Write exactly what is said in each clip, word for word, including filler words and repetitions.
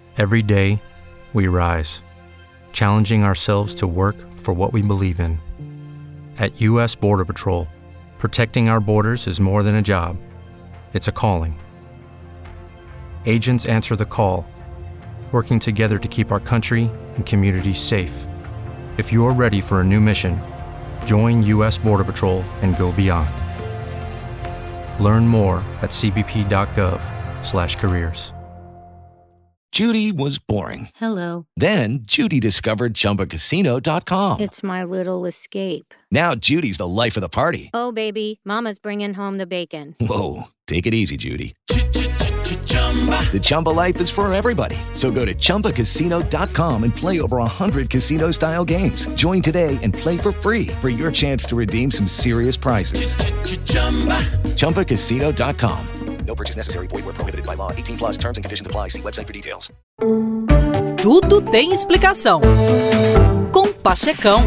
Every day, we rise, challenging ourselves to work for what we believe in. At U S Border Patrol, protecting our borders is more than a job. It's a calling. Agents answer the call, working together to keep our country and communities safe. If you're ready for a new mission, join U S Border Patrol and go beyond. Learn more at c b p dot gov slash careers. Judy was boring. Hello. Then Judy discovered Chumba Casino dot com. It's my little escape. Now Judy's the life of the party. Oh, baby, mama's bringing home the bacon. Whoa, take it easy, Judy. The Chumba life is for everybody. So go to Chumba Casino dot com and play over one hundred casino-style games. Join today and play for free for your chance to redeem some serious prizes. Chumba Casino dot com. No purchase necessary. Void where prohibited by law. eighteen plus terms and conditions apply. See website for details. Tudo tem explicação. Com Pachecão.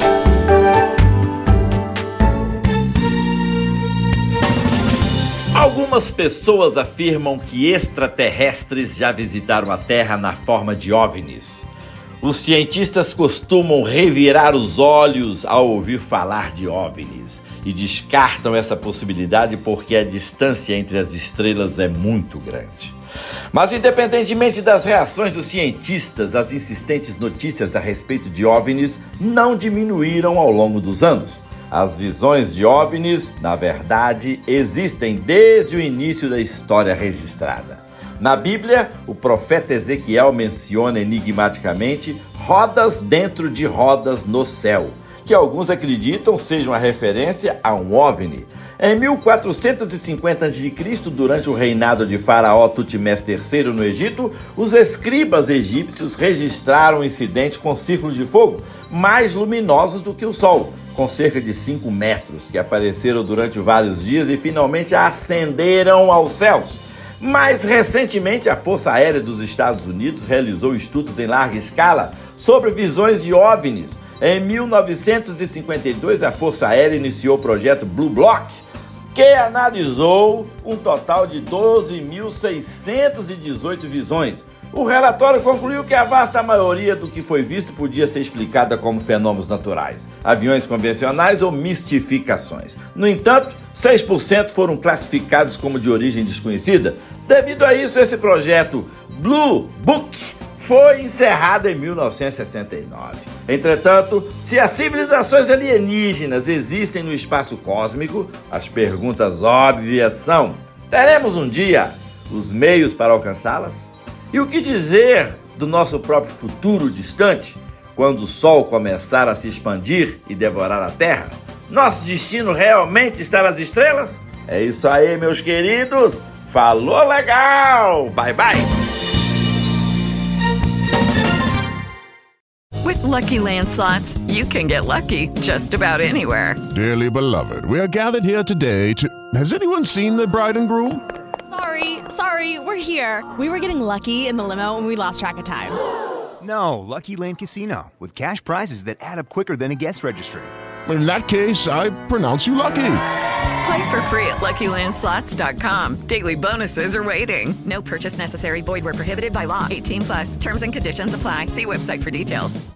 Algumas pessoas afirmam que extraterrestres já visitaram a Terra na forma de OVNIs. Os cientistas costumam revirar os olhos ao ouvir falar de OVNIs e descartam essa possibilidade porque a distância entre as estrelas é muito grande. Mas independentemente das reações dos cientistas, as insistentes notícias a respeito de OVNIs não diminuíram ao longo dos anos. As visões de OVNIs, na verdade, existem desde o início da história registrada. Na Bíblia, o profeta Ezequiel menciona enigmaticamente rodas dentro de rodas no céu, que alguns acreditam seja uma referência a um OVNI. Em mil quatrocentos e cinquenta antes de Cristo, durante o reinado de Faraó Tutmés terceiro no Egito, os escribas egípcios registraram um incidente com círculos de fogo mais luminosos do que o Sol, com cerca de cinco metros, que apareceram durante vários dias e finalmente ascenderam aos céus. Mais recentemente, a Força Aérea dos Estados Unidos realizou estudos em larga escala sobre visões de OVNIs. Em mil novecentos e cinquenta e dois, a Força Aérea iniciou o projeto Blue Block, que analisou um total de doze mil seiscentas e dezoito visões. O relatório concluiu que a vasta maioria do que foi visto podia ser explicada como fenômenos naturais, aviões convencionais ou mistificações. No entanto, seis por cento foram classificados como de origem desconhecida. Devido a isso, esse projeto Blue Book foi encerrado em mil novecentos e sessenta e nove. Entretanto, se as civilizações alienígenas existem no espaço cósmico, as perguntas óbvias são: teremos um dia os meios para alcançá-las? E o que dizer do nosso próprio futuro distante, quando o Sol começar a se expandir e devorar a Terra? Nosso destino realmente está nas estrelas? É isso aí, meus queridos. Falou legal! Bye, bye! With Lucky Land Slots, you can get lucky just about anywhere. Dearly beloved, we are gathered here today to... Has anyone seen the bride and groom? Sorry, sorry, we're here. We were getting lucky in the limo and we lost track of time. No, Lucky Land Casino, with cash prizes that add up quicker than a guest registry. In that case, I pronounce you lucky. Play for free at lucky land slots dot com. Daily bonuses are waiting. No purchase necessary. Void where prohibited by law. eighteen plus. Terms and conditions apply. See website for details.